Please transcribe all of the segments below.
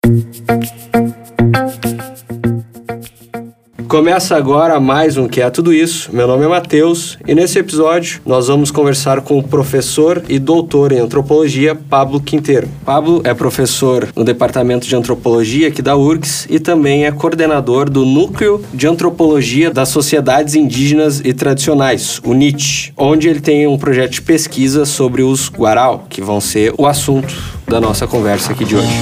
Começa agora mais um Que é Tudo Isso. Meu nome é Matheus e nesse episódio nós vamos conversar com o professor e doutor em antropologia Pablo Quinteiro. Pablo é professor no Departamento de Antropologia aqui da URGS e também é coordenador do Núcleo de Antropologia das Sociedades Indígenas e Tradicionais, o NIT, onde ele tem um projeto de pesquisa sobre os Guarau, que vão ser o assunto da nossa conversa aqui de hoje.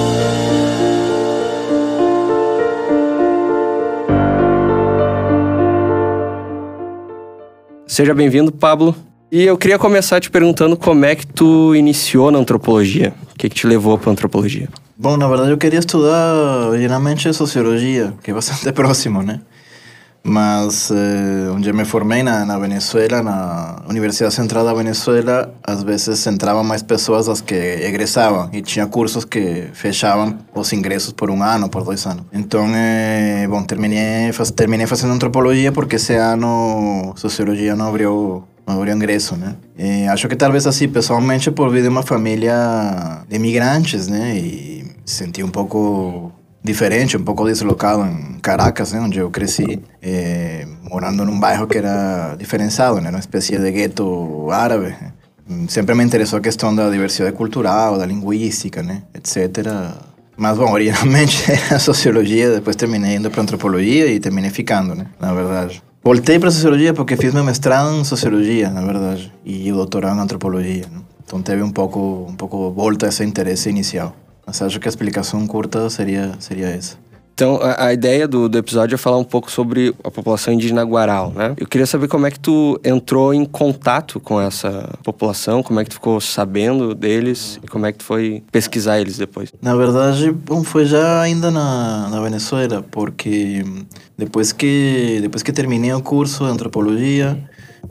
Seja bem-vindo, Pablo. E eu queria começar te perguntando como é que tu iniciou na antropologia. O que te levou para a antropologia? Bom, na verdade eu queria estudar originalmente sociologia, que é bastante próximo, né? Mas onde eu me formei na Venezuela, na Universidade Central da Venezuela, às vezes entravam mais pessoas das que egressavam e tinha cursos que fechavam os ingressos por um ano, por 2 anos. Então, bom, terminei fazendo antropologia porque esse ano sociologia não abriu ingresso, né? E acho que talvez assim, pessoalmente, por vir de uma família de imigrantes, né? E senti um pouco diferente, um pouco deslocado em Caracas, né, onde eu cresci, morando num bairro que era diferenciado, né, uma espécie de gueto árabe. Sempre me interessou a questão da diversidade cultural, da linguística, né, etc. Mas, bom, originalmente era sociologia, depois terminei indo para antropologia e terminei ficando, né, na verdade. Voltei para sociologia porque fiz meu mestrado em sociologia, na verdade, e o doutorado em antropologia, né? Então teve um pouco volta a esse interesse inicial. Mas acho que a explicação curta seria essa. Então, a ideia do episódio é falar um pouco sobre a população indígena Guarau, né? Eu queria saber como é que tu entrou em contato com essa população, como é que tu ficou sabendo deles e como é que tu foi pesquisar eles depois. Na verdade, bom, foi já ainda na Venezuela, porque depois que terminei o curso de antropologia,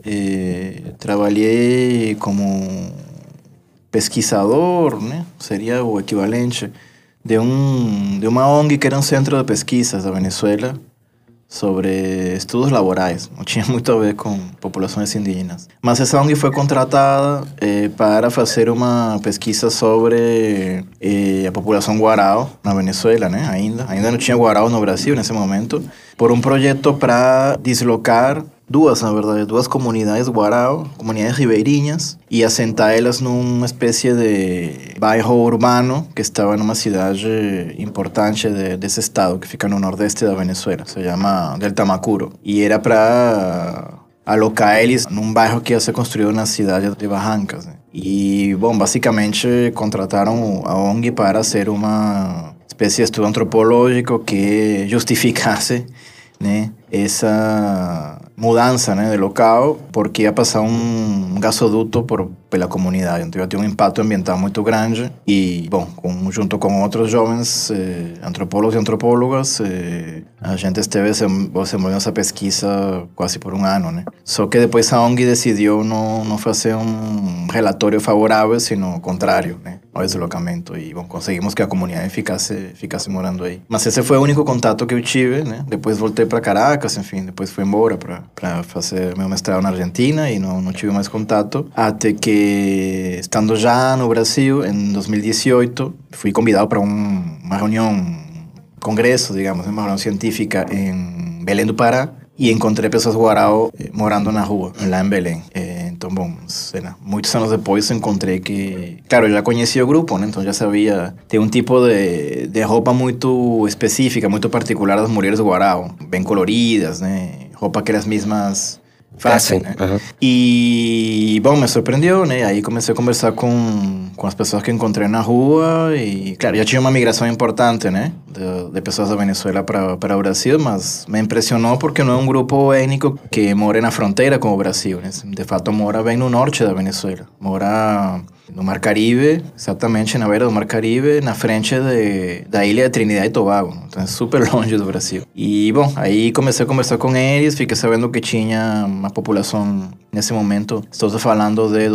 trabalhei como pesquisador, né? Seria o equivalente de uma ONG que era um centro de pesquisas da Venezuela sobre estudos laborais. Não tinha muito a ver com populações indígenas. Mas essa ONG foi contratada para fazer uma pesquisa sobre a população Guarau na Venezuela, né? Ainda não tinha Guarau no Brasil nesse momento, por um projeto para deslocar duas comunidades Guarau, comunidades ribeirinhas, e assentar elas numa espécie de bairro urbano que estava numa cidade importante desse estado, que fica no nordeste da Venezuela, se chama Del Tamacuro. E era para alocar eles num bairro que ia ser construído na cidade de Barrancas, né? E, bom, basicamente contrataram a ONG para ser uma espécie de estudo antropológico que justificasse, né, essa mudança, né, de local, porque ia passar um gasoduto pela comunidade. Então ia ter um impacto ambiental muito grande e, bom, junto com outros jovens antropólogos e antropólogas, a gente esteve desenvolvendo essa pesquisa quase por um ano, né? Só que depois a ONG decidiu não fazer um relatório favorável, sino o contrário, né, ao deslocamento. E, bom, conseguimos que a comunidade ficasse morando aí. Mas esse foi o único contato que eu tive, né? Depois voltei para Caracas, enfim, depois fui embora para fazer meu mestrado na Argentina e não tive mais contato, até que, estando já no Brasil, em 2018, fui convidado para uma reunião, congresso, digamos, uma reunião científica em Belém do Pará, e encontrei pessoas Guarau morando na rua, lá em Belém. Então, bom, muitos anos depois encontrei que... Claro, eu já conhecia o grupo, né? Então já sabia... Tem um tipo de roupa muito específica, muito particular das mulheres Guarau, bem coloridas, né? Roupa que elas mesmas fazem, né? Uhum. E, bom, me surpreendeu, né? Aí comecei a conversar com as pessoas que encontrei na rua e, claro, já tinha uma migração importante, né? De pessoas da Venezuela para o Brasil, mas me impressionou porque não é um grupo étnico que mora na fronteira com o Brasil, né? De fato, mora bem no norte da Venezuela. Mora no Mar Caribe, exatamente na beira do Mar Caribe, na frente da ilha de Trinidad e Tobago. Então é super longe do Brasil. E, bom, aí comecei a conversar com eles, fiquei sabendo que tinha uma população, nesse momento, estou falando de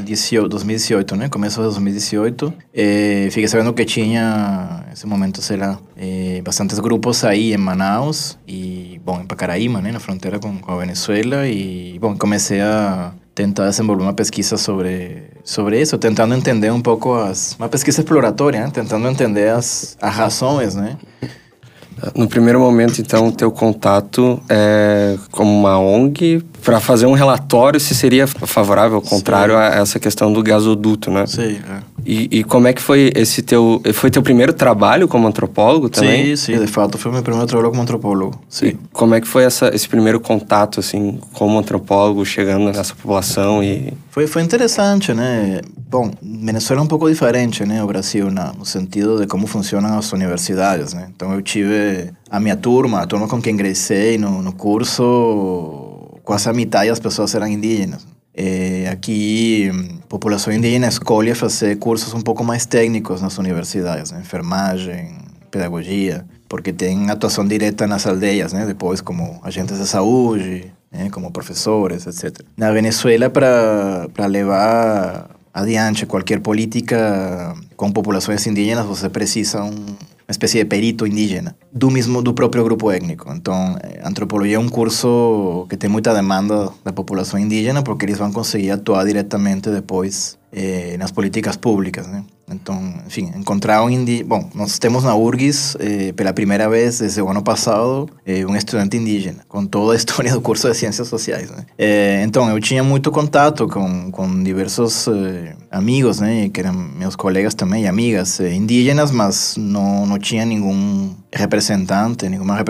2018, né? Começo de 2018. Fiquei sabendo que tinha, nesse momento, sei lá, bastantes grupos aí em Manaus e, bom, em Pacaraíma, né? Na fronteira com a Venezuela. E, bom, comecei a tentar desenvolver uma pesquisa sobre isso, tentando entender um pouco uma pesquisa exploratória, né? Tentando entender as razões, né? No primeiro momento, então, o teu contato é como uma ONG para fazer um relatório se seria favorável, ao contrário, a essa questão do gasoduto, né? Sim, E como é que foi esse Foi teu primeiro trabalho como antropólogo também? Sim, de fato, foi meu primeiro trabalho como antropólogo, sim. E como é que foi esse primeiro contato, assim, como antropólogo, chegando nessa população e... Foi interessante, né? Bom, Venezuela é um pouco diferente, né? O Brasil, no sentido de como funcionam as universidades, né? Então, eu tive a minha turma, a turma com quem ingressei no curso, quase a metade das pessoas eram indígenas. Aqui, a população indígena escolhe fazer cursos um pouco mais técnicos nas universidades, né? Enfermagem, pedagogia, porque tem atuação direta nas aldeias, né? Depois como agentes de saúde, né? Como professores, etc. Na Venezuela, para levar adiante qualquer política com populações indígenas, você precisa uma espécie de perito indígena, do próprio grupo étnico. Então, antropologia é um curso que tem muita demanda da população indígena, porque eles vão conseguir atuar diretamente depois nas políticas públicas, né? Então, enfim, encontrar Bom, nós temos na URGS, pela primeira vez desde o ano passado, um estudante indígena, com toda a história do curso de Ciências Sociais, né? Então, eu tinha muito contato com diversos amigos, né? Que eram meus colegas também, e amigas indígenas, mas não tinha nenhuma representante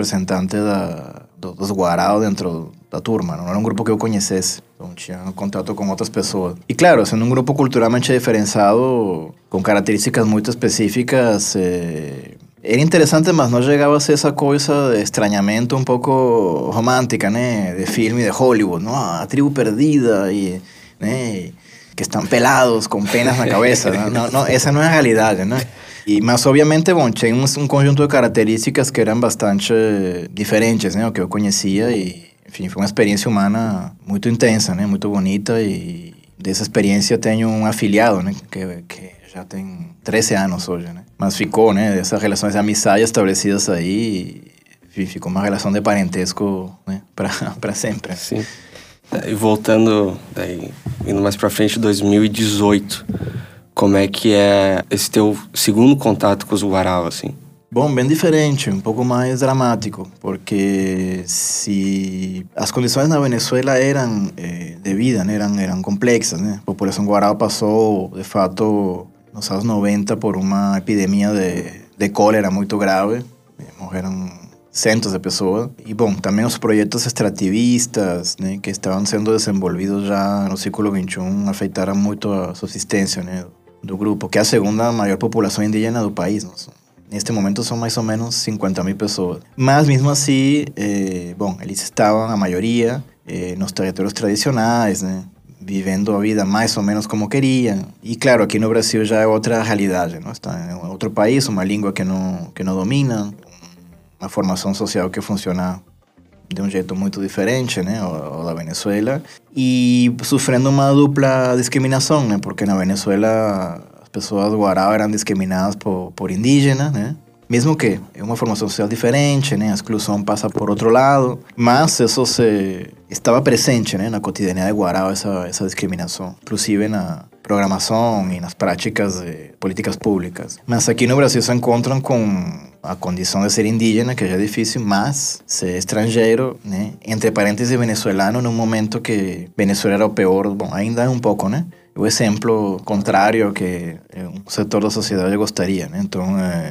dos Guarao dentro da turma, não era um grupo que eu conhecesse, então tinha contato com outras pessoas. E claro, sendo um grupo culturalmente diferenciado, com características muito específicas, era interessante, mas não chegava a ser essa coisa de estranhamento um pouco romântica, né, de filme de Hollywood, não? A tribo perdida e, né, que estão pelados com penas na cabeça, não, essa não é a realidade, né? Mas obviamente, bom, tinha um conjunto de características que eram bastante diferentes, né, o que eu conhecia e, enfim, foi uma experiência humana muito intensa, né, muito bonita, e dessa experiência tenho um afiliado, né, que já tem 13 anos hoje, né, mas ficou, né, dessas relações de amizade estabelecidas aí, e ficou uma relação de parentesco, né, para sempre. Sim. E voltando, indo mais para frente, 2018, como é que é esse teu segundo contato com os Guarau, assim? Bom, bem diferente, um pouco mais dramático, porque se as condições na Venezuela eram de vida, né, eram complexas, né? A população Guarau passou, de fato, nos anos 90 por uma epidemia de cólera muito grave, morreram centos de pessoas. E, bom, também os projetos extrativistas, né, que estavam sendo desenvolvidos já no século XXI afetaram muito a subsistência, né, do grupo, que é a segunda maior população indígena do país, não? Neste momento são mais ou menos 50.000 pessoas. Mas, mesmo assim, bom, eles estavam, a maioria, nos territórios tradicionais, né? Vivendo a vida mais ou menos como queriam. E, claro, aqui no Brasil já é outra realidade, não? Está em outro país, uma língua que não domina, uma formação social que funciona de um jeito muito diferente, né? O da Venezuela. E sofrendo uma dupla discriminação, né? Porque na Venezuela pessoas Guarau eram discriminadas por indígenas, né? Mesmo que é uma formação social diferente, né? A exclusão passa por outro lado, mas isso estava presente, né? Na cotidianidade de Guarau, essa discriminação, inclusive na programação e nas práticas de políticas públicas. Mas aqui no Brasil se encontram com a condição de ser indígena, que já é difícil, mas ser estrangeiro, né? Entre parênteses venezuelano, num momento que Venezuela era o pior, bom, ainda é um pouco, né? O exemplo contrário que um setor da sociedade gostaria, né? Então,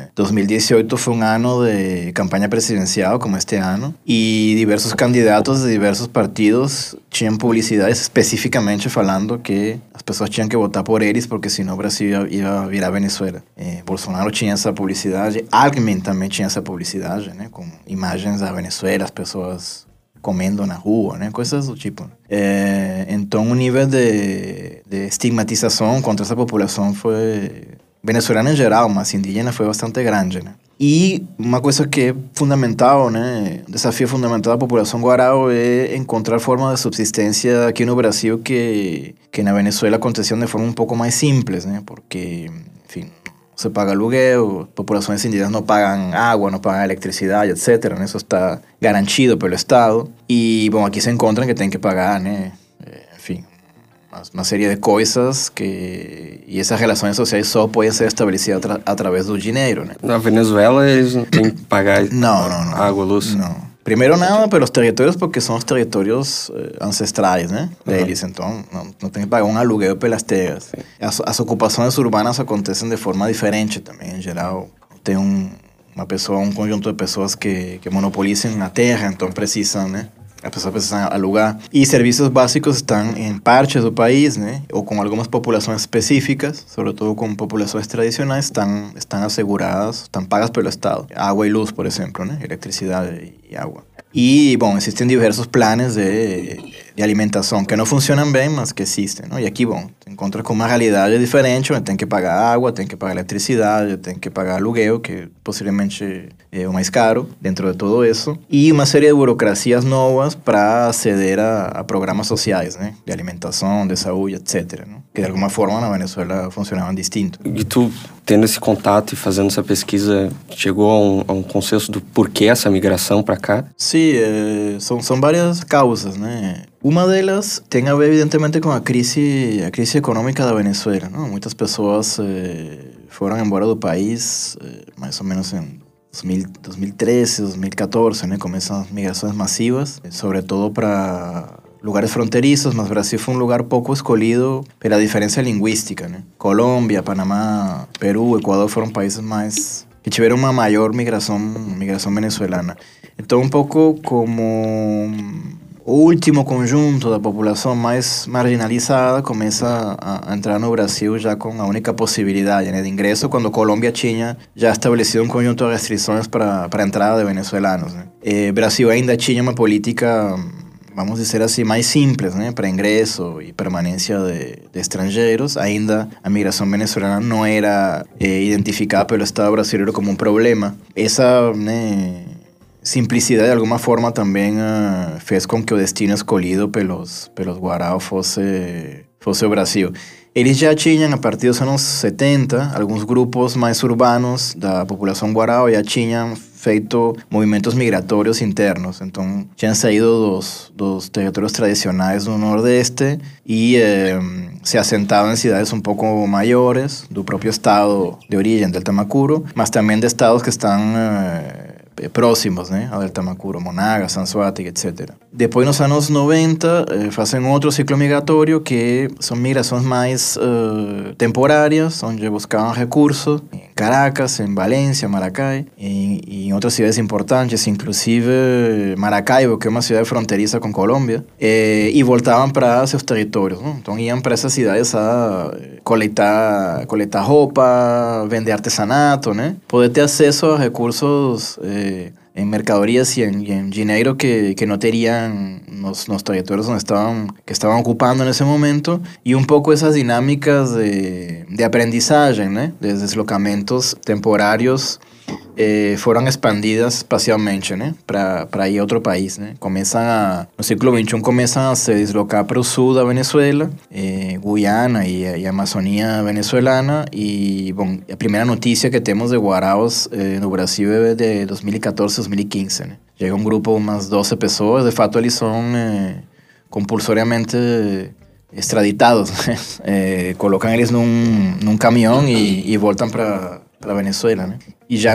2018 foi um ano de campanha presidencial, como este ano, e diversos candidatos de diversos partidos tinham publicidades especificamente falando que as pessoas tinham que votar por eles, porque senão o Brasil ia virar Venezuela. Bolsonaro tinha essa publicidade, Alckmin também tinha essa publicidade, né? Com imagens da Venezuela, as pessoas comendo na rua, né? Coisas do tipo. Então, o nível de estigmatização contra essa população foi venezuelana em geral, mas indígena foi bastante grande, né? E uma coisa que é fundamental, né? Um desafio fundamental da população Guarau é encontrar formas de subsistência aqui no Brasil que na Venezuela aconteciam de forma um pouco mais simples, né? Porque, enfim, você paga aluguel, populações indígenas não pagam água, não pagam eletricidade, etc. Né? Isso está garantido pelo Estado. E, bom, aqui se encontram que tem que pagar, né? Enfim, uma série de coisas e essas relações sociais só podem ser estabelecidas através do dinheiro, né? Na Venezuela eles não têm que pagar não. água, luz? Não. Primeiro nada pelos territórios, porque são os territórios ancestrais, né, deles. Então, não tem que pagar um aluguel pelas terras. As ocupações urbanas acontecem de forma diferente também, em geral. Tem um conjunto de pessoas que monopolizam a terra, então precisam, né? As pessoas precisam alugar. E serviços básicos estão em partes do país, né? Ou com algumas populações específicas, sobretudo com populações tradicionais, estão asseguradas, estão pagas pelo Estado. Água e luz, por exemplo, né? Eletricidade e água. E, bom, existem diversos planos de alimentação que não funcionam bem, mas que existem, não? E aqui, bom, te encontras com uma realidade diferente, onde tem que pagar água, tem que pagar eletricidade, tem que pagar aluguel, que possivelmente é o mais caro dentro de tudo isso, e uma série de burocracias novas para aceder a programas sociais, né? De alimentação, de saúde, etc., não? Que de alguma forma na Venezuela funcionavam distinto. E tu, tendo esse contato e fazendo essa pesquisa, chegou a um consenso do porquê essa migração para cá? Sim, são várias causas, né? Uma delas tem a ver, evidentemente, com a crise econômica da Venezuela, não? Muitas pessoas foram embora do país, mais ou menos em 2013, 2014, né? Começam as migrações massivas, sobretudo para lugares fronterizos, mas Brasil foi um lugar pouco escolhido pela diferença linguística, né? Colômbia, Panamá, Peru, Equador foram países mais que tiveram uma maior migração venezuelana. Então, um pouco como o último conjunto da população mais marginalizada começa a entrar no Brasil já com a única possibilidade, né, de ingresso, quando Colômbia tinha já estabelecido um conjunto de restrições para a entrada de venezuelanos, né? Brasil ainda tinha uma política, vamos dizer assim, mais simples, né, para ingresso e permanência de estrangeiros. Ainda a migração venezuelana não era identificada pelo Estado brasileiro como um problema. Essa, né, simplicidade de alguma forma também fez com que o destino escolhido pelos Guarao fosse o Brasil. Eles já tinham, a partir dos anos 70, alguns grupos mais urbanos da população Guarao já tinham feito movimentos migratórios internos. Então, tinham saído dos territórios tradicionais do Nordeste e se assentavam em cidades um pouco maiores do próprio estado de origem, del Tamacuro, mas também de estados que estão próximos, né, ao del Tamacuro, Monagas, Anzoátegui, etc. Depois, nos anos 90, fazem outro ciclo migratório que são migrações mais temporárias, onde buscavam recursos em Caracas, em Valência, Maracay, e em outras cidades importantes, inclusive Maracaibo, que é uma cidade fronteiriça com Colômbia, e voltavam para seus territórios, não? Então, iam para essas cidades a coletar roupa, vender artesanato, né? Poder ter acesso a recursos em mercadorias e em dinheiro que não teriam nos territórios que estavam ocupando nesse momento, e um pouco essas dinâmicas de aprendizagem, né, de deslocamentos temporários foram expandidas espacialmente, né, para ir a outro país, né. No século XXI começam a se deslocar para o sul da Venezuela, Guiana e a Amazônia venezuelana, e bom, a primeira notícia que temos de Guaraos no Brasil é de 2014, 2015, né. Chega um grupo, umas 12 pessoas, de fato eles são compulsoriamente extraditados, né? Colocam eles num caminhão e voltam para Venezuela, né? E já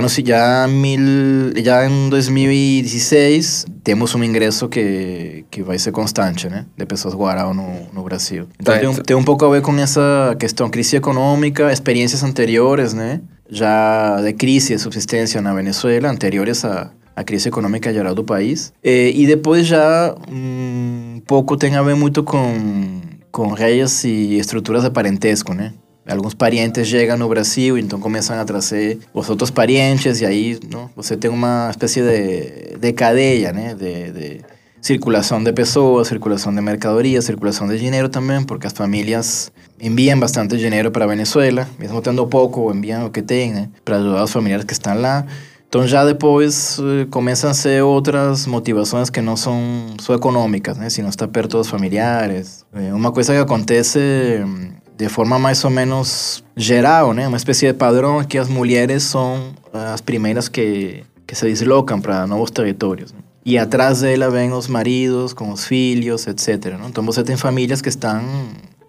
em 2016 temos um ingresso que vai ser constante, né, de pessoas Guarao no Brasil. Então tem um pouco a ver com essa questão, crise econômica, experiências anteriores, né, já de crise de subsistência na Venezuela, anteriores a crise econômica geral do país. E depois já um pouco tem a ver muito com redes e estruturas de parentesco, né? Alguns parientes chegam no Brasil, então começam a trazer os outros parientes, e aí, não, você tem uma espécie de cadeia, né, de circulação de pessoas, circulação de mercadorias, circulação de dinheiro também, porque as famílias enviam bastante dinheiro para a Venezuela, mesmo tendo pouco, enviam o que tem, né, para ajudar os familiares que estão lá. Então já depois começam a ser outras motivações que não são só econômicas, né, sino estar perto dos familiares. Uma coisa que acontece de forma mais ou menos geral, né? Uma espécie de padrão, que as mulheres são as primeiras que se deslocam para novos territórios, né? E atrás dela vêm os maridos com os filhos, etc., né? Então você tem famílias que estão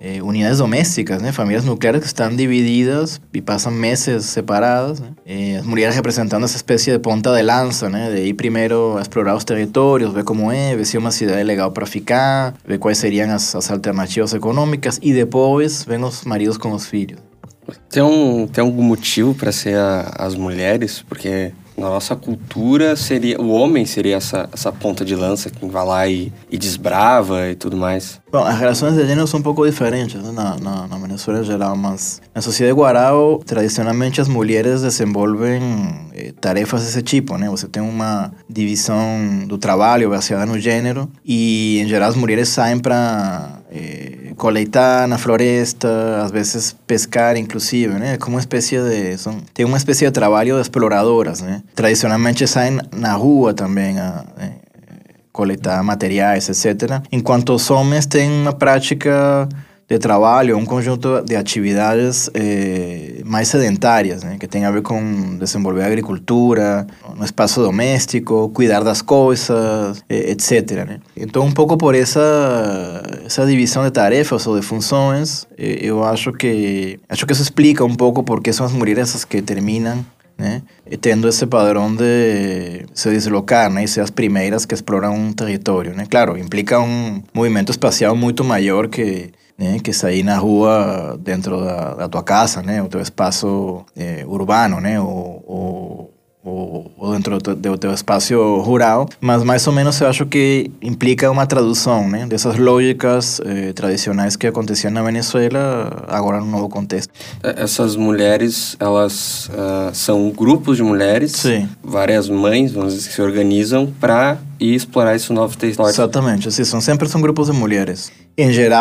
unidades domésticas, né? Famílias nucleares que estão divididas e passam meses separadas, né? As mulheres representando essa espécie de ponta de lança, né? De ir primeiro a explorar os territórios, ver como é, ver se é uma cidade legal para ficar, ver quais seriam as alternativas econômicas e depois vem os maridos com os filhos. Tem algum motivo para ser as mulheres? Porque na nossa cultura o homem seria essa ponta de lança, quem vai lá e desbrava e tudo mais. Bom, as relações de gênero são um pouco diferentes, né? Na Venezuela em geral, mas na sociedade guarao, tradicionalmente as mulheres desenvolvem tarefas desse tipo, né? Você tem uma divisão do trabalho baseada no gênero e, em geral, as mulheres saem para coletar na floresta, às vezes pescar, inclusive, né? Como uma espécie tem uma espécie de trabalho de exploradoras, né? Tradicionalmente saem na rua também a coletar materiais, etc. Enquanto os homens têm uma prática de trabalho, um conjunto de atividades mais sedentárias, né? Que tem a ver com desenvolver agricultura, no espaço doméstico, cuidar das coisas, etc. Né? Então, um pouco por essa divisão de tarefas ou de funções, eu acho que isso explica um pouco por que são as mulheres as que terminam, né, tendo esse padrão de se deslocar, né, e ser as primeiras que exploram um território, né? Claro, implica um movimento espacial muito maior que, né, que sair na rua dentro da tua casa, né, o teu espaço urbano, né, ou dentro do teu espaço rural, mas mais ou menos eu acho que implica uma tradução, né, dessas lógicas tradicionais que aconteciam na Venezuela, agora num novo contexto. Essas mulheres, elas são grupos de mulheres, sim, várias mães, vamos dizer, que se organizam para ir explorar esse novo território. Exatamente, assim, sempre são grupos de mulheres. Em geral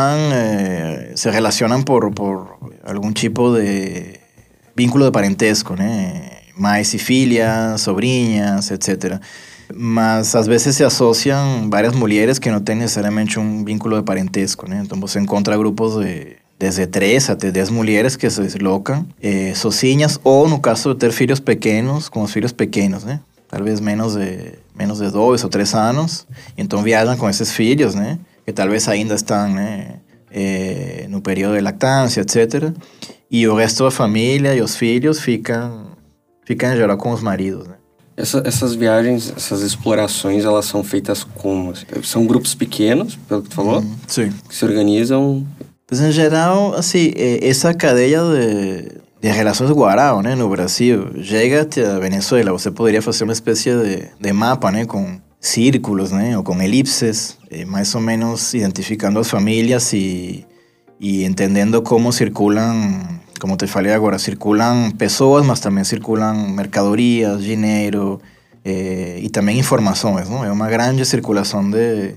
se relacionam por algum tipo de vínculo de parentesco, né? Mães e filhas, sobrinhas, etc. Mas às vezes se associam várias mulheres que não têm necessariamente um vínculo de parentesco, né? Então você encontra grupos desde 3 até 10 mulheres que se deslocam sozinhas ou, no caso de ter filhos pequenos, com os filhos pequenos, né? Talvez menos de 2 ou 3 anos. Então viajam com esses filhos, né? Que talvez ainda estão, né, no período de lactância, etc. E o resto da família e os filhos ficam em geral com os maridos, né? Essas viagens, essas explorações, elas são feitas como? São grupos pequenos, pelo que tu falou? Sim. Que se organizam? Pues, em geral, assim, essa cadeia de relações guarao, né, no Brasil, chega até a Venezuela. Você poderia fazer uma espécie de mapa, né, com círculos, né, ou com elipses, mais ou menos identificando as famílias e entendendo como circulam. Como te falei agora, circulam pessoas, mas também circulam mercadorias, dinheiro e também informações, não? É uma grande circulação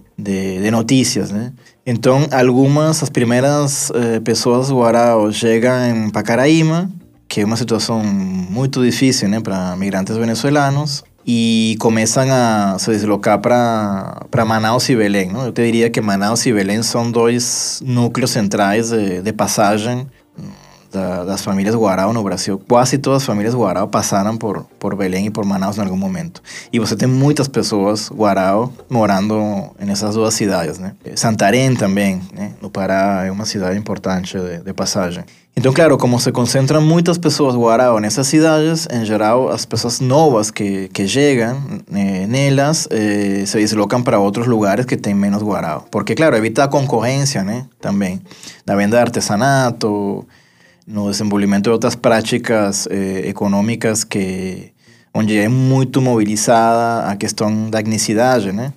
de notícias, né? Então, as primeiras pessoas guarao chegam em Pacaraima, que é uma situação muito difícil, né, para migrantes venezuelanos, e começam a se deslocar para Manaus e Belém, não? Eu te diria que Manaus e Belém são 2 núcleos centrais de passagem das famílias guarao no Brasil. Quase todas as famílias guarao passaram por Belém e por Manaus em algum momento. E você tem muitas pessoas guarao morando nessas 2 cidades, né? Santarém também, né? No Pará é uma cidade importante de passagem. Então, claro, como se concentram muitas pessoas guarao nessas cidades, em geral, as pessoas novas que chegam nelas se deslocam para outros lugares que têm menos guarao. Porque, claro, evita a concorrência, né? Também. Da venda de artesanato, no desenvolvimento de outras práticas econômicas onde é muito mobilizada a questão da etnicidade, né?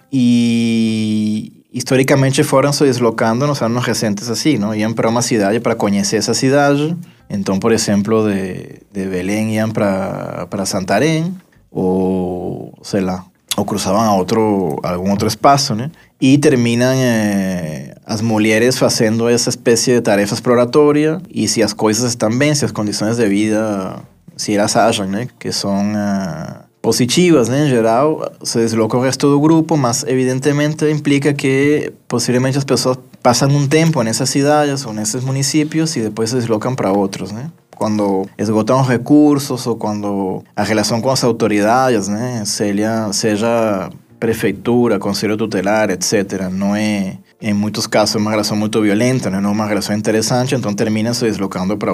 E historicamente foram se deslocando nos anos recentes assim, não? Iam para uma cidade para conhecer essa cidade. Então, por exemplo, de Belém iam para Santarém, ou sei lá, ou cruzavam algum outro espaço, né? E terminam as mulheres fazendo essa espécie de tarefa exploratória, e se as coisas estão bem, se as condições de vida, se elas acham, né, que são positivas, né, em geral, se desloca o resto do grupo, mas evidentemente implica que possivelmente as pessoas passam um tempo nessas cidades ou nesses municípios e depois se deslocam para outros, né? Quando esgotam os recursos ou quando a relação com as autoridades, né, seja prefeitura, conselho tutelar, etc., não é em muitos casos é uma relação muito violenta, né? Não uma relação interessante, então termina se deslocando para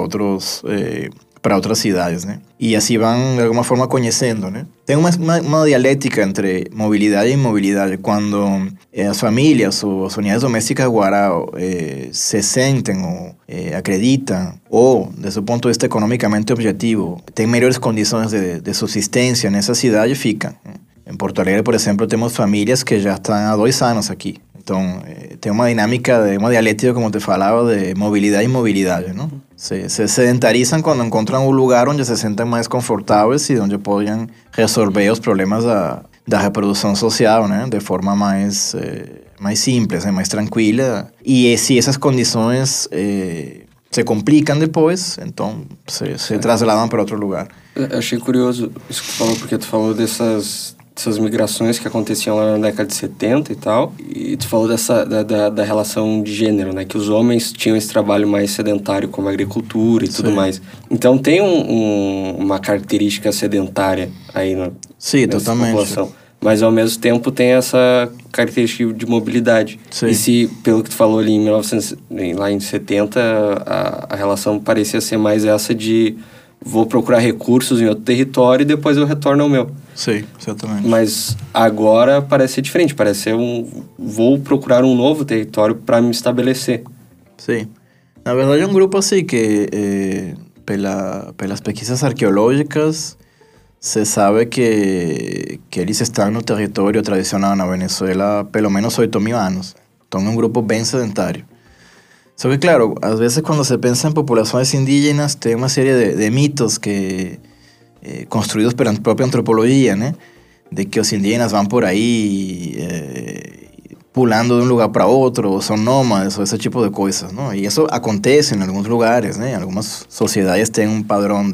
outras cidades, né? E assim vão, de alguma forma, conhecendo, né? Tem uma dialética entre mobilidade e imobilidade. Quando as famílias ou as unidades domésticas guarau se sentem ou acreditam, ou, desde o ponto de vista economicamente objetivo, têm melhores condições de subsistência nessa cidade, ficam, né? Em Porto Alegre, por exemplo, temos famílias que já estão há 2 anos aqui. Então, tem uma dinâmica, uma dialética, como te falava, de mobilidade e imobilidade, não? Se sedentarizam quando encontram um lugar onde se sentem mais confortáveis e onde podem resolver os problemas da reprodução social, né? De forma mais simples, mais tranquila. E se essas condições se complicam depois, então se trasladam para outro lugar. Eu achei curioso isso que tu falou, porque tu falou dessas migrações que aconteciam lá na década de 70 e tal, e tu falou da relação de gênero, né, que os homens tinham esse trabalho mais sedentário como a agricultura e tudo mais. Então tem uma característica sedentária aí nessa totalmente. População, mas ao mesmo tempo tem essa característica de mobilidade. Sim. E se, pelo que tu falou ali lá em 70, a relação parecia ser mais essa de vou procurar recursos em outro território e depois eu retorno ao meu. Sim, exatamente. Mas agora parece ser diferente, parece ser vou procurar um novo território para me estabelecer. Sim. Na verdade é um grupo assim que, pelas pesquisas arqueológicas, se sabe que eles estão no território tradicional na Venezuela pelo menos 8.000 anos. Então é um grupo bem sedentário. Só que, claro, às vezes quando se pensa em populações indígenas, tem uma série de mitos que construídos pela própria antropologia, né? De que os indígenas vão por aí pulando de um lugar para outro, ou são nômades, ou esse tipo de coisas, não? E isso acontece em alguns lugares, né? Algumas sociedades têm um padrão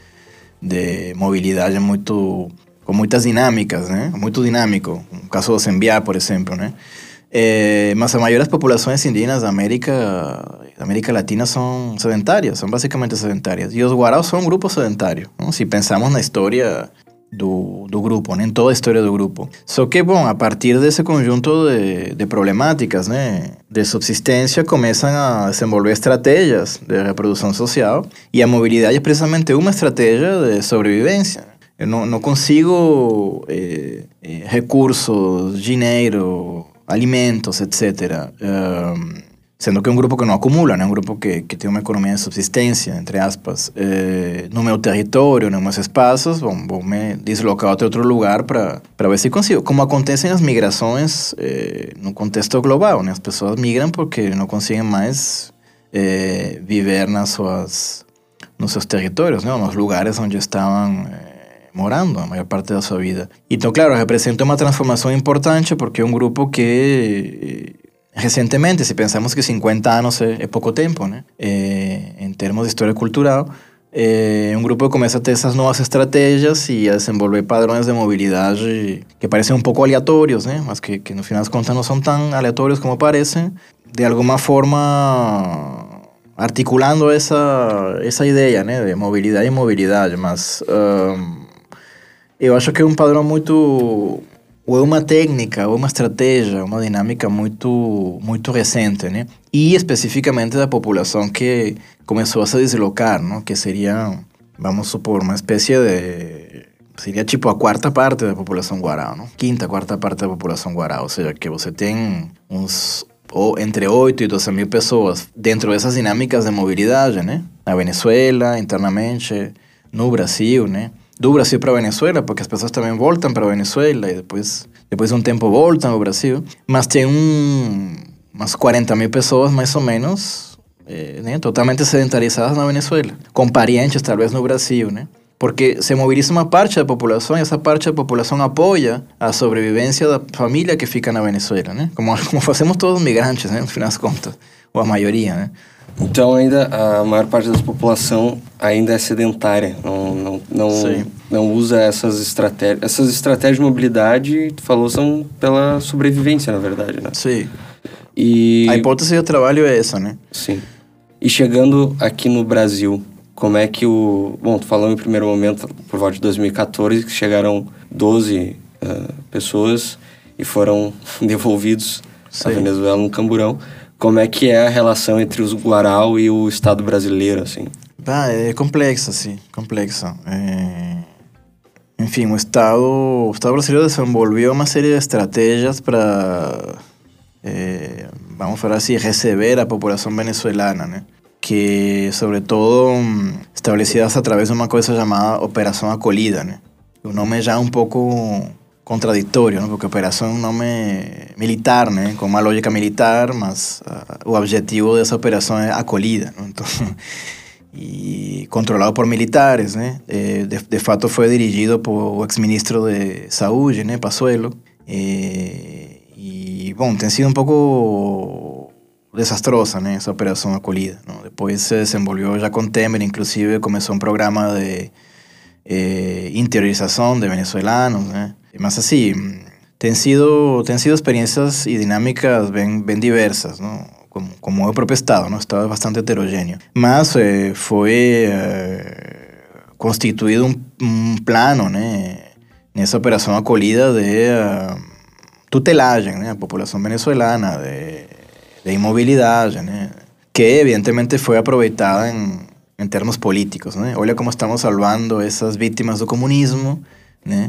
de mobilidade com muitas dinâmicas, né? Muito dinâmico. O caso do Sembiá, por exemplo, né? Mas a maioria das populações indígenas da América Latina são sedentárias, são basicamente sedentárias. E os guaraus são um grupo sedentário, não? Se pensamos na história do grupo, né? Em toda a história do grupo. Só que, bom, a partir desse conjunto de problemáticas, né? De subsistência, começam a desenvolver estratégias de reprodução social, e a mobilidade é precisamente uma estratégia de sobrevivência. Eu não consigo recursos, dinheiro, alimentos, etc. Sendo que é um grupo que não acumula, né? Um grupo que tem uma economia de subsistência, entre aspas. No meu território, nos meus espaços, vou me deslocar a outro lugar para ver se consigo. Como acontecem as migrações no contexto global, né? As pessoas migram porque não conseguem mais viver nos seus territórios, né? Nos lugares onde estavam morando a maior parte da sua vida. Então, claro, representa uma transformação importante porque é um grupo que recentemente, se pensamos que 50 anos é pouco tempo, né? Em termos de história cultural, é um grupo que começa a ter essas novas estratégias e a desenvolver padrões de mobilidade que parecem um pouco aleatórios, né? Mas que no final das contas não são tão aleatórios como parecem, de alguma forma articulando essa ideia, né? De mobilidade e mobilidade, mas eu acho que é um padrão muito, ou é uma técnica, ou uma estratégia, uma dinâmica muito recente, né? E especificamente da população que começou a se deslocar, não? Que seria, vamos supor, uma espécie de... Seria tipo a quarta parte da população guarau, não? Quarta parte da população guarau, ou seja, que você tem entre 8 e 12 mil pessoas dentro dessas dinâmicas de mobilidade, né? Na Venezuela, internamente, no Brasil, né? Do Brasil para a Venezuela, porque as pessoas também voltam para a Venezuela e depois de um tempo voltam ao Brasil. Mas tem umas 40 mil pessoas, mais ou menos, né, totalmente sedentarizadas na Venezuela, com parentes, talvez, no Brasil, né? Porque se moviliza uma parte da população e essa parte da população apoia a sobrevivência da família que fica na Venezuela, né? Como fazemos todos os migrantes, né? No final das contas, ou a maioria, né? Então, ainda a maior parte da população ainda é sedentária, não usa essas estratégias. Essas estratégias de mobilidade, tu falou, são pela sobrevivência, na verdade, né? Sim. E a hipótese do trabalho é essa, né? Sim. E chegando aqui no Brasil, como é que Bom, tu falou em primeiro momento, por volta de 2014, que chegaram 12 pessoas e foram devolvidos a Venezuela no Camburão. Como é que é a relação entre os Guarau e o Estado brasileiro, assim? É complexa, sim, complexa. Enfim, o Estado brasileiro desenvolveu uma série de estratégias para, vamos falar assim, receber a população venezuelana, né? Que, sobretudo, estabelecidas a través de uma coisa chamada Operação Acolhida, né? O nome já é um pouco contraditório, né? Porque operação é um nome militar, né? Com uma lógica militar, mas o objetivo dessa operação é acolhida, né? Então, e controlado por militares, né? De fato foi dirigido por o ex-ministro de Saúde, né? Pazuello. E, bom, tem sido um pouco desastrosa, né? Essa operação acolhida, não? Depois se desenvolveu já com Temer, inclusive começou um programa de interiorização de venezuelanos, né? Mas assim, tem sido experiências e dinâmicas bem diversas, não? Como é o próprio Estado, não? O Estado é bastante heterogêneo. Mas foi constituído um plano, né? Nessa operação acolhida de tutelagem, né? A população venezuelana, de imobilidade, né? Que evidentemente foi aproveitada em termos políticos, né? Olha como estamos salvando essas vítimas do comunismo, né?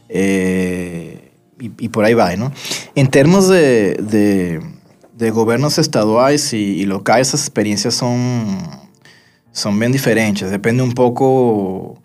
E por aí vai, não? Em termos de governos estaduais e locais, essas experiências são bem diferentes. Depende um pouco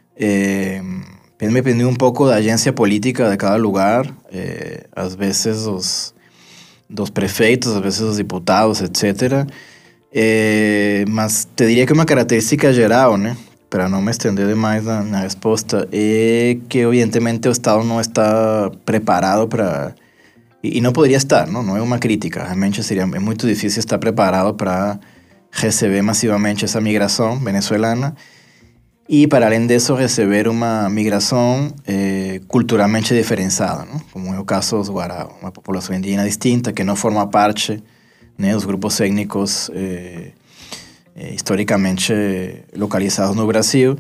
da agência política de cada lugar. Às vezes dos prefeitos, às vezes dos diputados, etc. Mas te diria que uma característica geral, né? Para não me estender demais na resposta, é que evidentemente o Estado não está preparado para... E não poderia estar, não é uma crítica. Realmente é muito difícil estar preparado para receber massivamente essa migração venezuelana e, para além disso, receber uma migração culturalmente diferenciada, não? Como é o caso dos Guarau, uma população indígena distinta que não forma parte, né, dos grupos étnicos historicamente localizados no Brasil.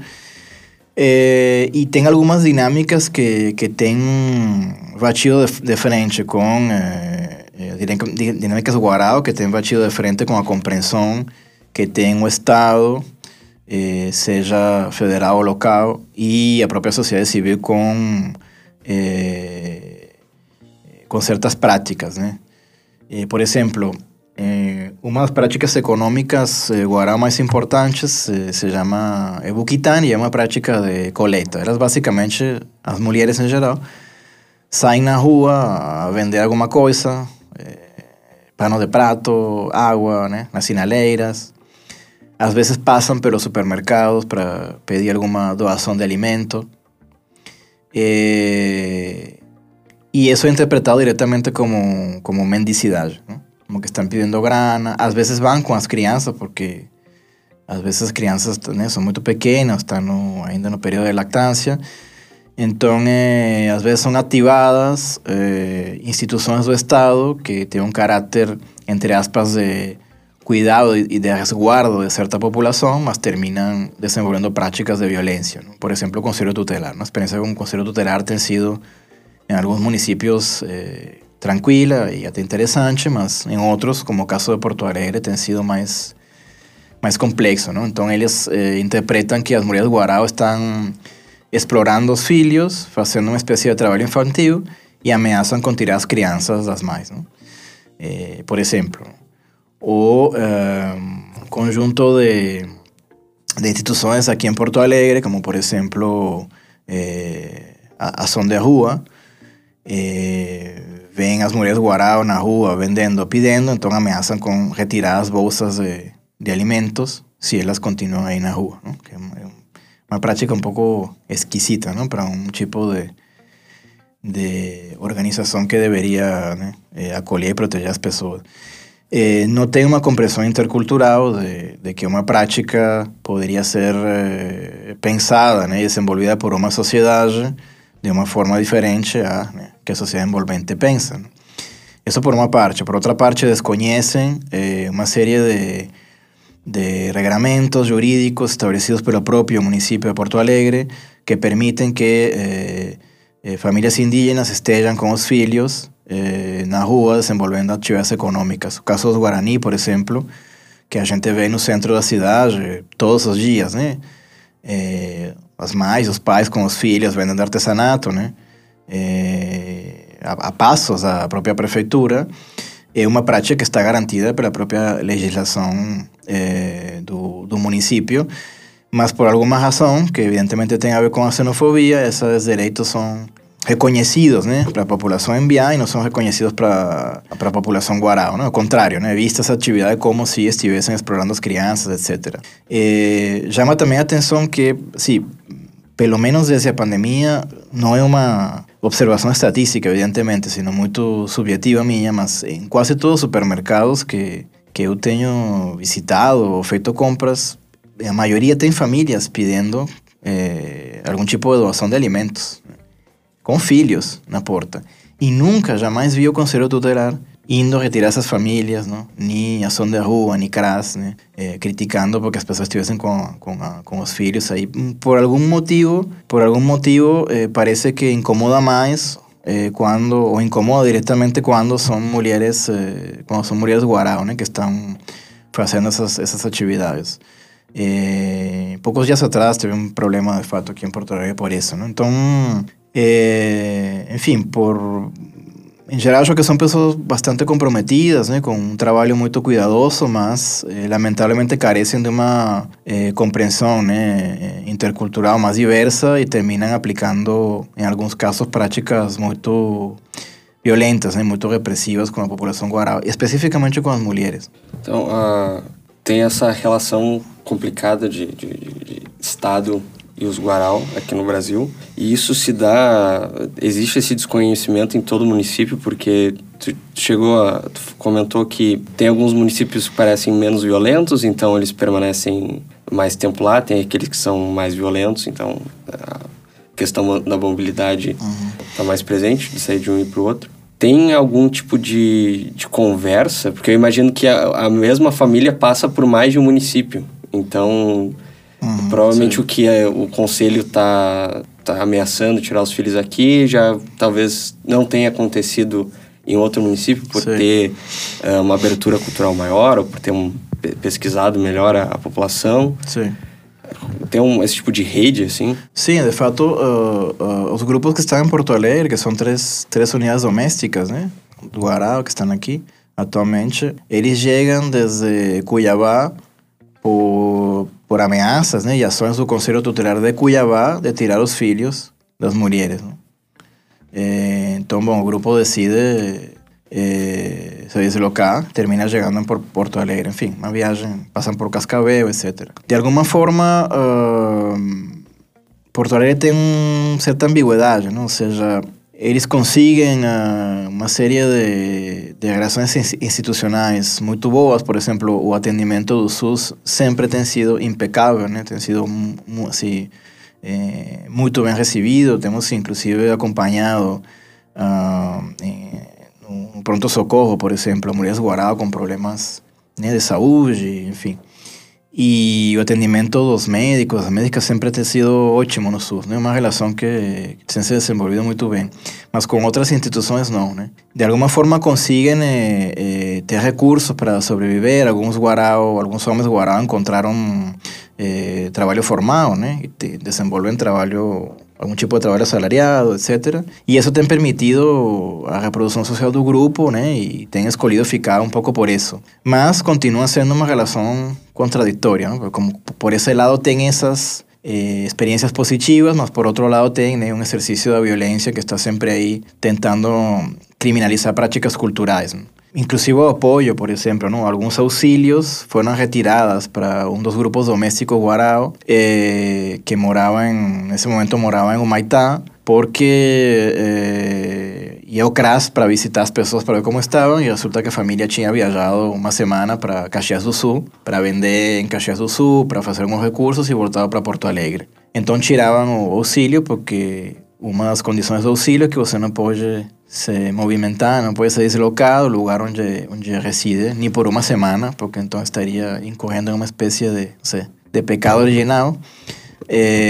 E tem algumas dinâmicas que têm batido de frente com dinâmicas Guarau, que têm batido de frente com a compreensão que tem o Estado, seja federal ou local, e a própria sociedade civil com certas práticas, né? Por exemplo, uma das práticas econômicas Guarau mais importantes se chama Ebuquitán, e é uma prática de coleta. Elas, basicamente, as mulheres em geral, saem na rua a vender alguma coisa, pano de prato, água, né, nas sinaleiras. Às vezes passam pelos supermercados para pedir alguma doação de alimento. E isso é interpretado diretamente como mendicidade, né? Como que estão pedindo grana. Às vezes vão com as crianças, porque às vezes as crianças, né, são muito pequenas, estão ainda no período de lactância. Então, às vezes são ativadas instituições do Estado que têm um caráter, entre aspas, de cuidado e de resguardo de certa população, mas terminam desenvolvendo práticas de violência, ¿no? Por exemplo, o Conselho Tutelar. A experiência com o Conselho Tutelar tem sido, em alguns municípios, tranquila e até interessante, mas em outros, como o caso de Porto Alegre, tem sido mais complexo, não? Então eles interpretam que as mulheres Guarau estão explorando os filhos, fazendo uma espécie de trabalho infantil e ameaçam com tirar as crianças das mães, não? Por exemplo, o conjunto de instituições aqui em Porto Alegre, como por exemplo a Ação de Rua, vêm as mulheres Guarau na rua vendendo, pedindo, então ameaçam com retirar as bolsas de alimentos se elas continuam aí na rua, não? Que é uma prática um pouco esquisita, não? Para um tipo de organização que deveria, né, acolher e proteger as pessoas. Não tem uma compreensão intercultural de que uma prática poderia ser pensada, né, e desenvolvida por uma sociedade de uma forma diferente né, que a sociedade envolvente pensa, né? Isso por uma parte. Por outra parte, desconhecem uma série de regramentos jurídicos establecidos pelo próprio município de Porto Alegre que permitem que famílias indígenas estejam com os filhos na rua desenvolvendo atividades econômicas. O caso dos Guarani, por exemplo, que a gente vê no centro da cidade todos os dias, né? As mães, os pais com os filhos vendendo artesanato, né? A passos da própria prefeitura. É uma prática que está garantida pela própria legislação do município, mas por alguma razão, que evidentemente tem a ver com a xenofobia, esses direitos são reconhecidos, né, para a população embiá e não são reconhecidos para a população guarau, né? Ao contrário, né, vista essa atividade como se estivessem explorando as crianças, etc. Chama também a atenção que, sim, pelo menos desde a pandemia, não é uma observação estatística, evidentemente, sino muito subjetiva minha, mas em quase todos os supermercados que eu tenho visitado ou feito compras, a maioria tem famílias pedindo algum tipo de doação de alimentos, com filhos na porta. E nunca, jamais vi o Conselho Tutelar indo retirar essas famílias, não? Nem ação de rua, nem CRAS, né? Criticando porque as pessoas estivessem com os filhos aí. Por algum motivo, parece que incomoda mais ou incomoda diretamente quando são mulheres guarau, né? Que estão fazendo essas atividades. Poucos dias atrás teve um problema de fato aqui em Porto Alegre por isso, né? Então, enfim, em geral, acho que são pessoas bastante comprometidas, né, com um trabalho muito cuidadoso, mas lamentavelmente carecem de uma compreensão, né, intercultural mais diversa e terminam aplicando, em alguns casos, práticas muito violentas, né, muito repressivas com a população guarau, especificamente com as mulheres. Então, tem essa relação complicada de Estado e os guarau aqui no Brasil, e isso existe esse desconhecimento em todo o município, porque tu comentou que tem alguns municípios que parecem menos violentos, então eles permanecem mais tempo lá, tem aqueles que são mais violentos, então a questão da mobilidade está mais presente, de sair de um e para o outro. Tem algum tipo de conversa? Porque eu imagino que a mesma família passa por mais de um município, então provavelmente o que o conselho está ameaçando tirar os filhos aqui já talvez não tenha acontecido em outro município por ter uma abertura cultural maior ou por ter pesquisado melhor a população. Sim. Tem esse tipo de rede, assim? Sim, de fato, os grupos que estão em Porto Alegre, que são três unidades domésticas, né, do guarau que estão aqui atualmente, eles chegam desde Cuiabá por ameaças, né, e ações do Conselho Tutelar de Cuiabá de tirar os filhos das mulheres, né? Então, bom, o grupo decide se deslocar, termina chegando em Porto Alegre, enfim, uma viagem, passam por Cascavel, etc. De alguma forma, Porto Alegre tem uma certa ambiguidade, não? Ou seja, eles conseguem uma série de relações institucionais muito boas. Por exemplo, o atendimento do SUS sempre tem sido impecável, né? Tem sido assim, muito bem recebido. Temos inclusive acompanhado um pronto-socorro, por exemplo, mulheres guarau com problemas, né, de saúde, enfim. E o atendimento dos médicos, as médicas sempre tem sido ótimo no SUS, né? Uma relação que tem se desenvolvido muito bem. Mas com outras instituições não, né? De alguma forma conseguem ter recursos para sobreviver. Alguns homens guarau encontraram trabalho formal, né? E desenvolvem algum tipo de trabalho assalariado, etc. E isso tem permitido a reprodução social do grupo, né? E tem escolhido ficar um pouco por isso. Mas continua sendo uma relação contraditória, né? Como por esse lado tem essas experiências positivas, mas por outro lado tem, né, um exercício da violência que está sempre aí tentando criminalizar práticas culturais, né? Inclusive o apoio, por exemplo, não? Alguns auxílios foram retirados para um dos grupos domésticos guarau que nesse momento moravam em Humaitá, porque ia ao CRAS para visitar as pessoas para ver como estavam, e resulta que a família tinha viajado uma semana para Caxias do Sul, para vender em Caxias do Sul, para fazer alguns recursos e voltava para Porto Alegre. Então tiravam o auxílio, porque uma das condições do auxílio é que você não pode se movimentar, não pode ser deslocado do lugar onde reside, nem por uma semana, porque então estaria incorrendo em uma espécie de pecado original.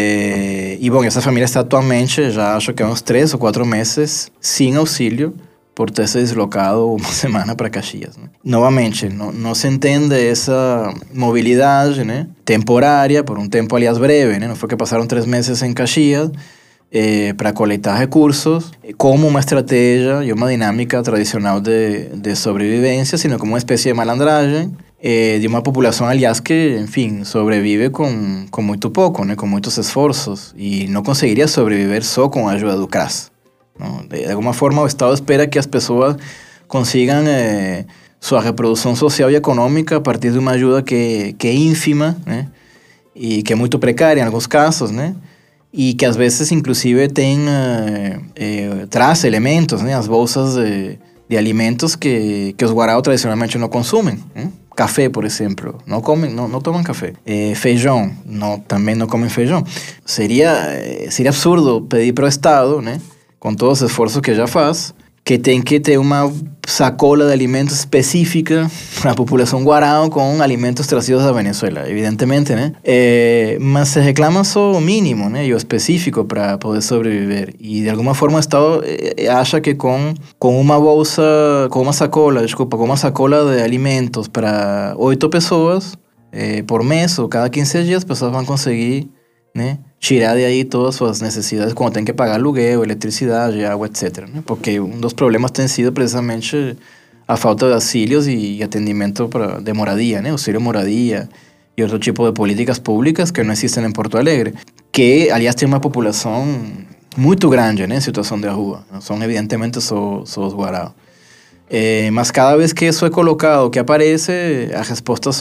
E bom, essa família está atualmente, já acho que há uns 3 ou 4 meses, sem auxílio, por ter se deslocado uma semana para Caxias, né? Novamente, não se entende essa mobilidade, né, temporária, por um tempo, aliás, breve, né? Não foi que passaram 3 meses em Caxias para coletar recursos como uma estratégia e uma dinâmica tradicional de sobrevivência, sino como uma espécie de malandragem de uma população, aliás, que, enfim, sobrevive com muito pouco, né, com muitos esforços, e não conseguiria sobreviver só com a ajuda do CRAS, não? De alguma forma, o Estado espera que as pessoas consigam sua reprodução social e econômica a partir de uma ajuda que é ínfima, né, e que é muito precária em alguns casos, né, e que às vezes, inclusive, traz elementos, né, as bolsas de alimentos que os guaraos tradicionalmente não consumem, né? Café, por exemplo, não tomam café. Feijão, também não comem feijão. Seria absurdo pedir para o Estado, né, com todos os esforços que já faz, que tem que ter uma sacola de alimentos específica para a população guarau com alimentos trazidos da Venezuela, evidentemente, né? Mas se reclama só o mínimo, né, e o específico para poder sobreviver. E de alguma forma o Estado acha que com uma sacola de alimentos para 8 pessoas por mês ou cada 15 dias, as pessoas vão conseguir, né, tirar de aí todas suas necessidades quando tem que pagar aluguel, eletricidade, água, etc., né? Porque um dos problemas tem sido precisamente a falta de auxílios e atendimento de moradia, né? Auxílio moradia e outro tipo de políticas públicas que não existem em Porto Alegre, que, aliás, tem uma população muito grande, né, em situação de rua. Não são, evidentemente, só os guaraos. Mas cada vez que isso é colocado, que aparece, as respostas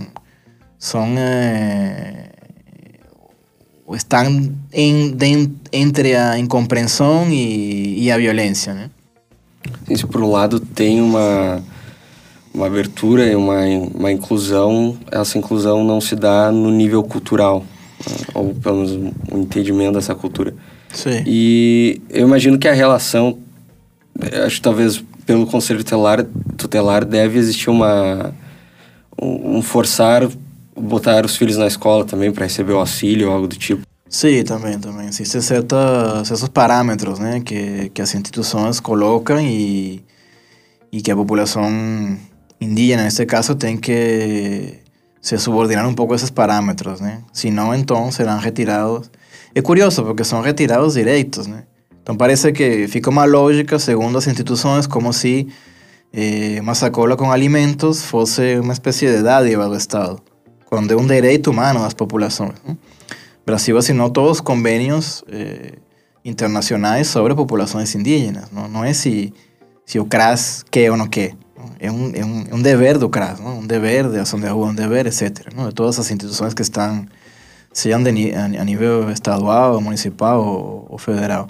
estão entre a incompreensão e a violência, né? Isso, por um lado, tem uma abertura e uma inclusão. Essa inclusão não se dá no nível cultural, ou pelo menos um entendimento dessa cultura. Sim. E eu imagino que a relação, acho que talvez pelo Conselho Tutelar deve existir um forçar botar os filhos na escola também para receber o auxílio ou algo do tipo. Sim, também. Existem certos parâmetros, né, que as instituições colocam e que a população indígena, nesse caso, tem que se subordinar um pouco a esses parâmetros, né? Senão, então, serão retirados. É curioso, porque são retirados direitos, né? Então, parece que fica uma lógica, segundo as instituições, como se uma sacola com alimentos fosse uma espécie de dádiva do Estado, quando é um direito humano das populações, né? O Brasil assinou todos os convênios internacionais sobre populações indígenas. Não é se o CRAS quer ou não quer. É um dever do CRAS, não? Um dever de ação de rua, um dever, etc., não? De todas as instituições que estão, sejam a nível estadual, municipal ou federal.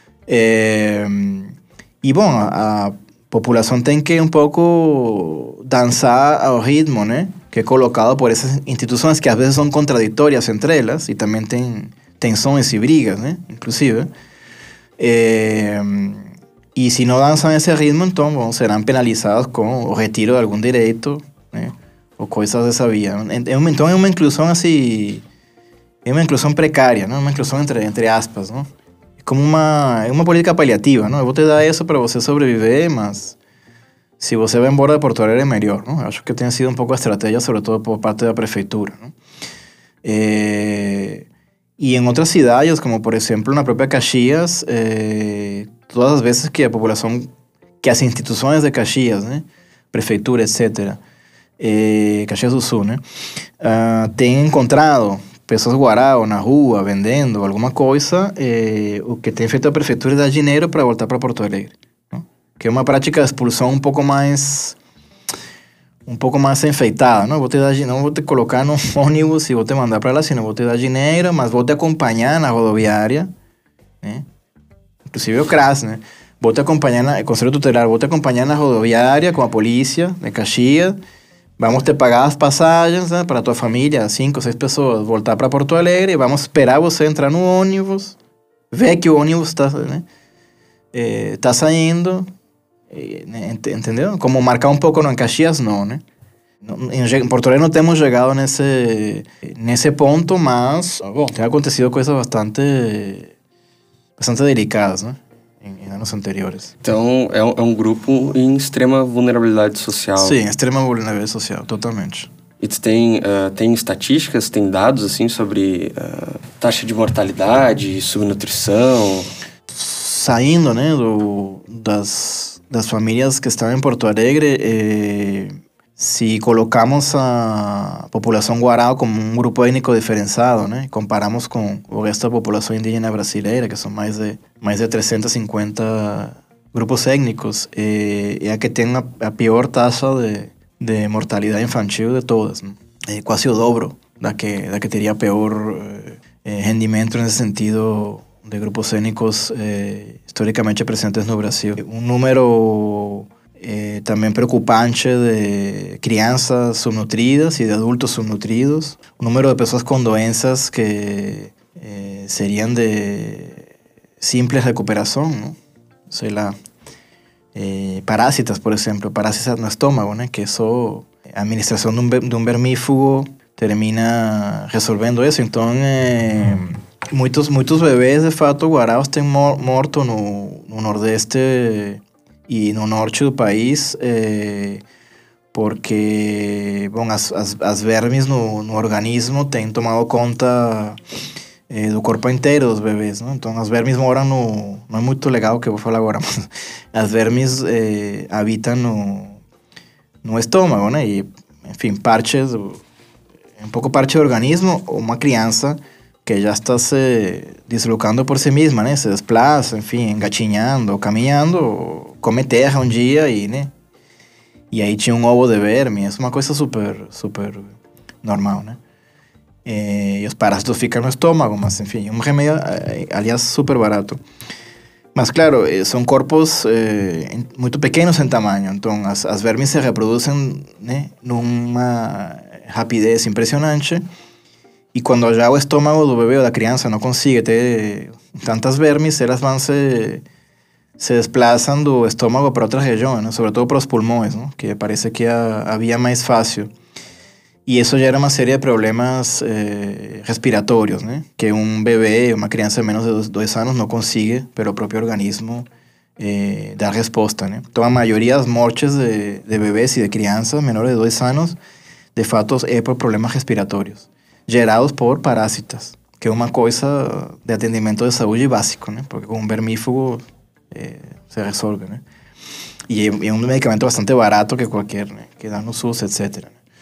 E, bom, a população tem que um pouco dançar ao ritmo, né, que é colocado por essas instituições que às vezes são contraditórias entre elas e também tem tensões e brigas, né, inclusive. E se não dançam esse ritmo, então, bom, serão penalizados com o retiro de algum direito, né, ou coisas dessa via. Então é uma inclusão assim, é uma inclusão precária, não? Uma inclusão entre aspas, não? Como uma política paliativa, não? Eu vou te dar isso para você sobreviver, mas se você vai embora de Porto Alegre é melhor, não? Acho que tem sido um pouco a estratégia, sobretudo por parte da prefeitura, não? E em outras cidades, como por exemplo na própria Caxias, todas as vezes que a população, que as instituições de Caxias, né, prefeitura, etc., Caxias do Sul, né, tem encontrado pessoas guarau na rua, vendendo alguma coisa, o que tem feito a prefeitura é dar dinheiro para voltar para Porto Alegre, não? Que é uma prática de expulsão um pouco mais enfeitada, não? Não vou te colocar no ônibus e vou te mandar para lá, senão vou te dar dinheiro, mas vou te acompanhar na rodoviária, né? Inclusive o CRAS, né? Vou te acompanhar, Conselho Tutelar, vou te acompanhar na rodoviária com a polícia de Caxias. Vamos te pagar as passagens, né, para a tua família, 5 ou 6 pessoas, voltar para Porto Alegre. Vamos esperar você entrar no ônibus, ver que o ônibus está, né, tá saindo, né, entendeu? Como marcar um pouco no Caxias, não, né? Em Porto Alegre não temos chegado nesse ponto, mas, bom, tem acontecido coisas bastante delicadas, né? em anos anteriores. Então, é um grupo em extrema vulnerabilidade social. Sim, extrema vulnerabilidade social, totalmente. E tu tem estatísticas, tem dados, assim, sobre taxa de mortalidade, subnutrição? Saindo, né, das famílias que estão em Porto Alegre, se colocamos a população guarau como um grupo étnico diferenciado, né, comparamos com o resto da população indígena brasileira, que são mais de 350 grupos étnicos, é a que tem a pior taxa de mortalidade infantil de todas, né? Quase o dobro da que teria pior rendimento nesse sentido de grupos étnicos historicamente presentes no Brasil. Um número também preocupante de crianças subnutridas e de adultos subnutridos. Um número de pessoas com doenças que seriam de simples recuperação, não? Sei lá, parásitas, por exemplo, parásitas no estômago, né? Que só a administração de um vermífugo termina resolvendo isso. Então, muitos bebês, de fato, guaraus têm morto no Nordeste e no Norte do país, porque bom, as vermes no organismo têm tomado conta do corpo inteiro dos bebês, não? Então as vermes moram não é muito legal o que eu vou falar agora, mas as vermes habitam no estômago, né? E, enfim, um pouco parte do organismo. Uma criança que já está se deslocando por si mesma, né? Se desplaça, enfim, engatinhando, caminhando, come terra um dia e, né? E aí tinha um ovo de verme. É uma coisa super, super normal, né? E os parásitos ficam no estômago, mas, enfim, um remédio, aliás, super barato. Mas, claro, são corpos muito pequenos em tamanho. Então, as vermes se reproduzem, né, numa rapidez impressionante. E quando já o estômago do bebê ou da criança não consegue ter tantas vermes, elas vão se desplaçam do estômago para outras regiões, né? Sobretudo para os pulmões, né? Que parece que é a via mais fácil. E isso gera uma série de problemas respiratórios, né? Que um bebê, uma criança de menos de 2 anos não consegue, pelo próprio organismo, dar resposta, né? Então, a maioria das mortes de bebês e de crianças menores de 2 anos, de fato, é por problemas respiratórios, gerados por parásitas, que é uma coisa de atendimento de saúde básico, né? Porque com um vermífugo se resolve, né? E é um medicamento bastante barato que qualquer, né? Que dá no SUS, etc.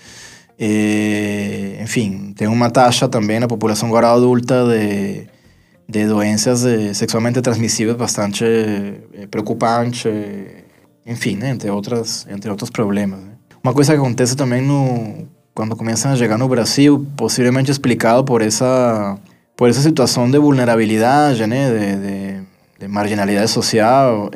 Enfim, tem uma taxa também na população guarau adulta de doenças sexualmente transmissíveis bastante preocupante, enfim, né? Entre outros problemas, né? Uma coisa que acontece também quando começam a chegar no Brasil, possivelmente explicado por essa situação de vulnerabilidade, né? De marginalidade social,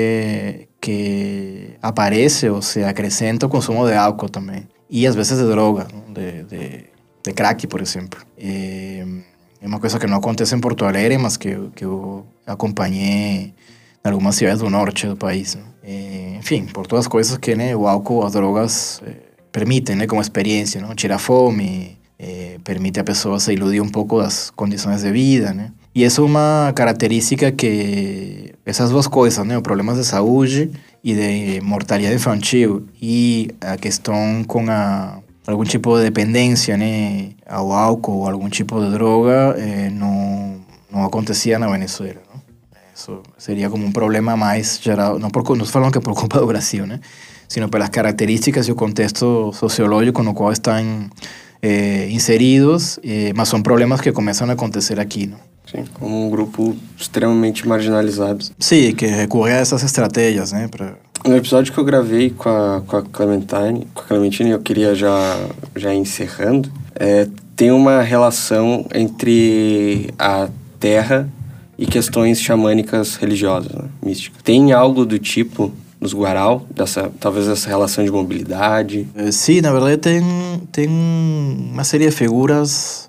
que aparece ou se acrescenta o consumo de álcool também. E às vezes de droga, de crack, por exemplo. É uma coisa que não acontece em Porto Alegre, mas que eu acompanhei em algumas cidades do norte do país, né? Enfim, por todas as coisas que, né, o álcool, as drogas permitem, né, como experiência, não? Tira fome, permite a pessoa se iludir um pouco das condições de vida, né? E essa é uma característica que essas duas coisas, né, os problemas de saúde e de mortalidade infantil e a questão com algum tipo de dependência, né, ao álcool ou algum tipo de droga, não acontecia na Venezuela, não? Isso seria como um problema mais geral, não estou falando que é por culpa do Brasil, né, sino pelas características e o contexto sociológico no qual estão inseridos, mas são problemas que começam a acontecer aqui, não? Sim, como um grupo extremamente marginalizado. Sim, que recorre a essas estratégias, né? No episódio que eu gravei com a Clementine, eu queria já encerrando, tem uma relação entre a terra e questões xamânicas religiosas, né? Místicas. Tem algo do tipo nos guarau, talvez essa relação de mobilidade? Sim, na verdade tem uma série de figuras...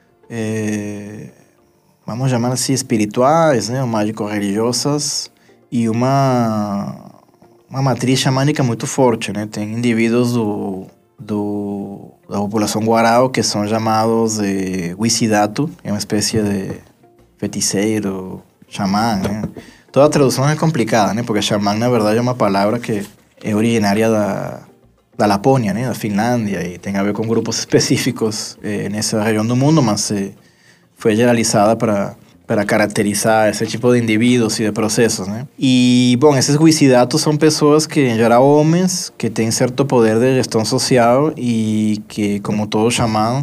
vamos chamar assim, espirituais, né, ou mágico-religiosas, e uma matriz xamânica muito forte, né? Tem indivíduos da população guarau que são chamados de Huicidatu, é uma espécie de feiticeiro, xamã, né? Toda a tradução é complicada, né? Porque xamã, na verdade, é uma palavra que é originária da Lapônia, né? Da Finlândia, e tem a ver com grupos específicos nessa região do mundo, mas foi generalizada para caracterizar esse tipo de indivíduos e de processos, né? E, bom, esses wisidatos são pessoas que, em geral, homens, que têm certo poder de gestão social e que, como todo xamã,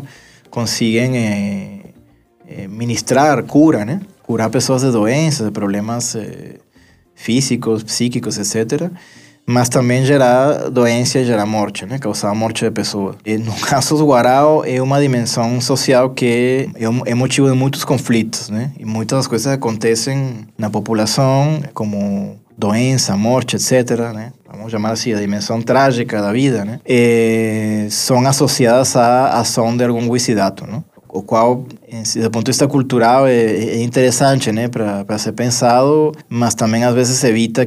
conseguem ministrar cura, né? Curar pessoas de doenças, de problemas físicos, psíquicos, etc., mas também gerar doença e gerar morte, né? Causar a morte de pessoas. E no caso do Guarao, é uma dimensão social que é motivo de muitos conflitos, né? E muitas das coisas acontecem na população, como doença, morte, etc., né? Vamos chamar assim, a dimensão trágica da vida, né? São associadas à ação de algum wisidato, né? O qual, do ponto de vista cultural, é interessante, né, para ser pensado, mas também às vezes evita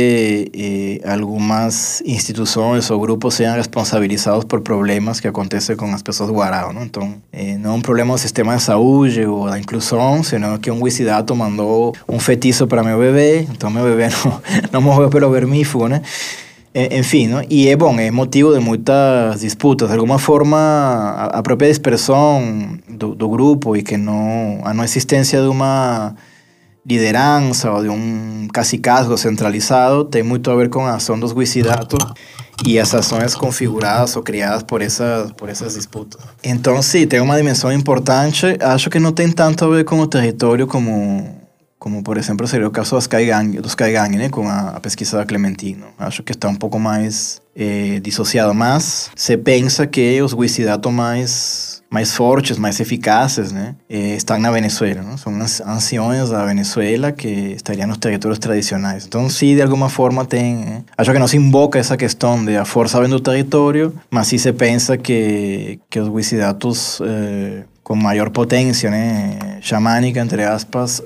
que algumas instituições ou grupos sejam responsabilizados por problemas que acontecem com as pessoas do Guarao, né? Então, não é um problema do sistema de saúde ou da inclusão, senão que um wisidato mandou um feitiço para meu bebê, então meu bebê não morreu pelo vermífugo, né? Enfim, não? E é motivo de muitas disputas. De alguma forma, a própria dispersão do grupo e que a não existência de uma liderança ou de um cacicazgo centralizado tem muito a ver com a ação dos wisidatos e as ações configuradas ou criadas por essas disputas. Então, sim, tem uma dimensão importante. Acho que não tem tanto a ver com o território como por exemplo, seria o caso dos Caigangue, né, com a pesquisa da Clementino. Acho que está um pouco mais dissociado, mas se pensa que os wisidatos mais fortes, mais eficazes, né, estão na Venezuela, né? São anciões da Venezuela que estariam nos territórios tradicionais. Então, sim, de alguma forma tem... Acho que não se invoca essa questão de a força vem do território, mas sim se pensa que os wisidatos... com maior potência, né, xamânica, entre aspas,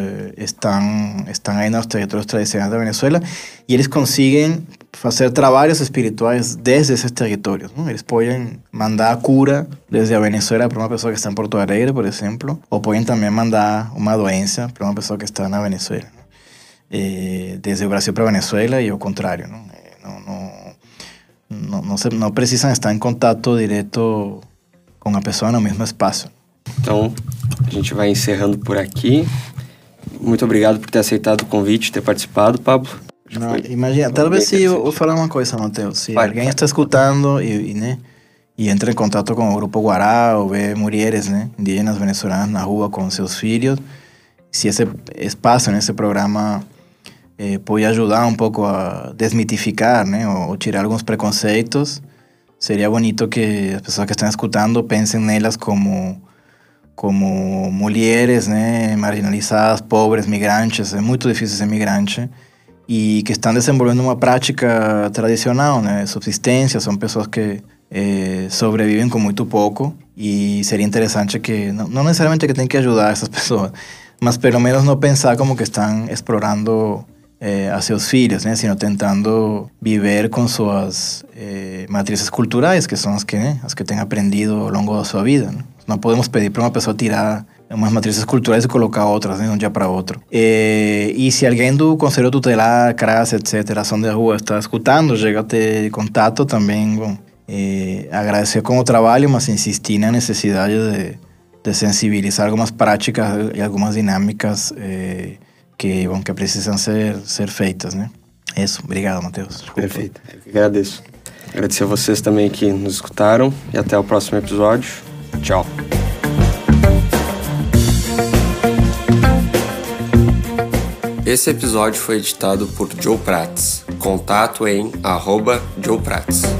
estão aí nos territórios tradicionais da Venezuela e eles conseguem fazer trabalhos espirituais desde esses territórios, né? Eles podem mandar a cura desde a Venezuela para uma pessoa que está em Porto Alegre, por exemplo, ou podem também mandar uma doença para uma pessoa que está na Venezuela, né? Desde o Brasil para a Venezuela e ao contrário, né? Não precisam estar em contato direto com a pessoa no mesmo espaço. Então, a gente vai encerrando por aqui. Muito obrigado por ter aceitado o convite, ter participado, Pablo. Não, imagina, talvez se eu vou falar uma coisa, Matheus. Se alguém está escutando e entra em contato com o Grupo Guarao, vê mulheres, né, indígenas venezuelanas na rua com seus filhos, se esse espaço, esse programa pode ajudar um pouco a desmitificar, né, ou tirar alguns preconceitos, seria bonito que as pessoas que estão escutando pensem nelas como mulheres, né, marginalizadas, pobres, migrantes. É muito difícil ser migrante e que estão desenvolvendo uma prática tradicional, né, de subsistência. São pessoas que sobrevivem com muito pouco e seria interessante que, não necessariamente que tem que ajudar essas pessoas, mas pelo menos não pensar como que estão explorando a seus filhos, né, sino tentando viver com suas matrizes culturais, que são as que têm aprendido ao longo da sua vida, né? Não podemos pedir para uma pessoa tirar umas matrizes culturais e colocar outras, né, de um dia para outro. E se alguém do Conselho Tutelar, CRAS, etc., Ação de Rua, está escutando, chega a ter contato também, bom, agradecer com o trabalho, mas insistir na necessidade de sensibilizar algumas práticas e algumas dinâmicas que precisam ser feitas, né? Isso. Obrigado, Matheus. Desculpa. Perfeito. Eu que agradeço. Agradecer a vocês também que nos escutaram e até o próximo episódio. Tchau. Esse episódio foi editado por Joe Prats. Contato em @Joe Prats.